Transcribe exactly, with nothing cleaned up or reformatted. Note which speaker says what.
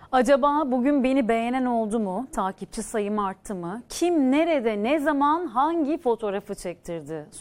Speaker 1: Acaba bugün beni beğenen oldu mu? Takipçi sayım arttı mı? Kim nerede, ne zaman, hangi fotoğrafı çektirdi?